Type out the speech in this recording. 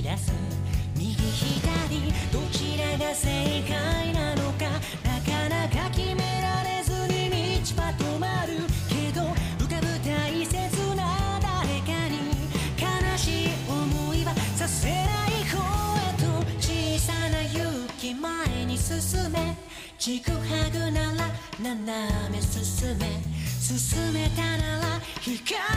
出す右左どちらが正解なのかなかなか決められずに道は止まるけど浮かぶ大切な誰かに悲しい思いはさせない方へと小さな勇気前に進めちぐはぐなら斜め進めたなら光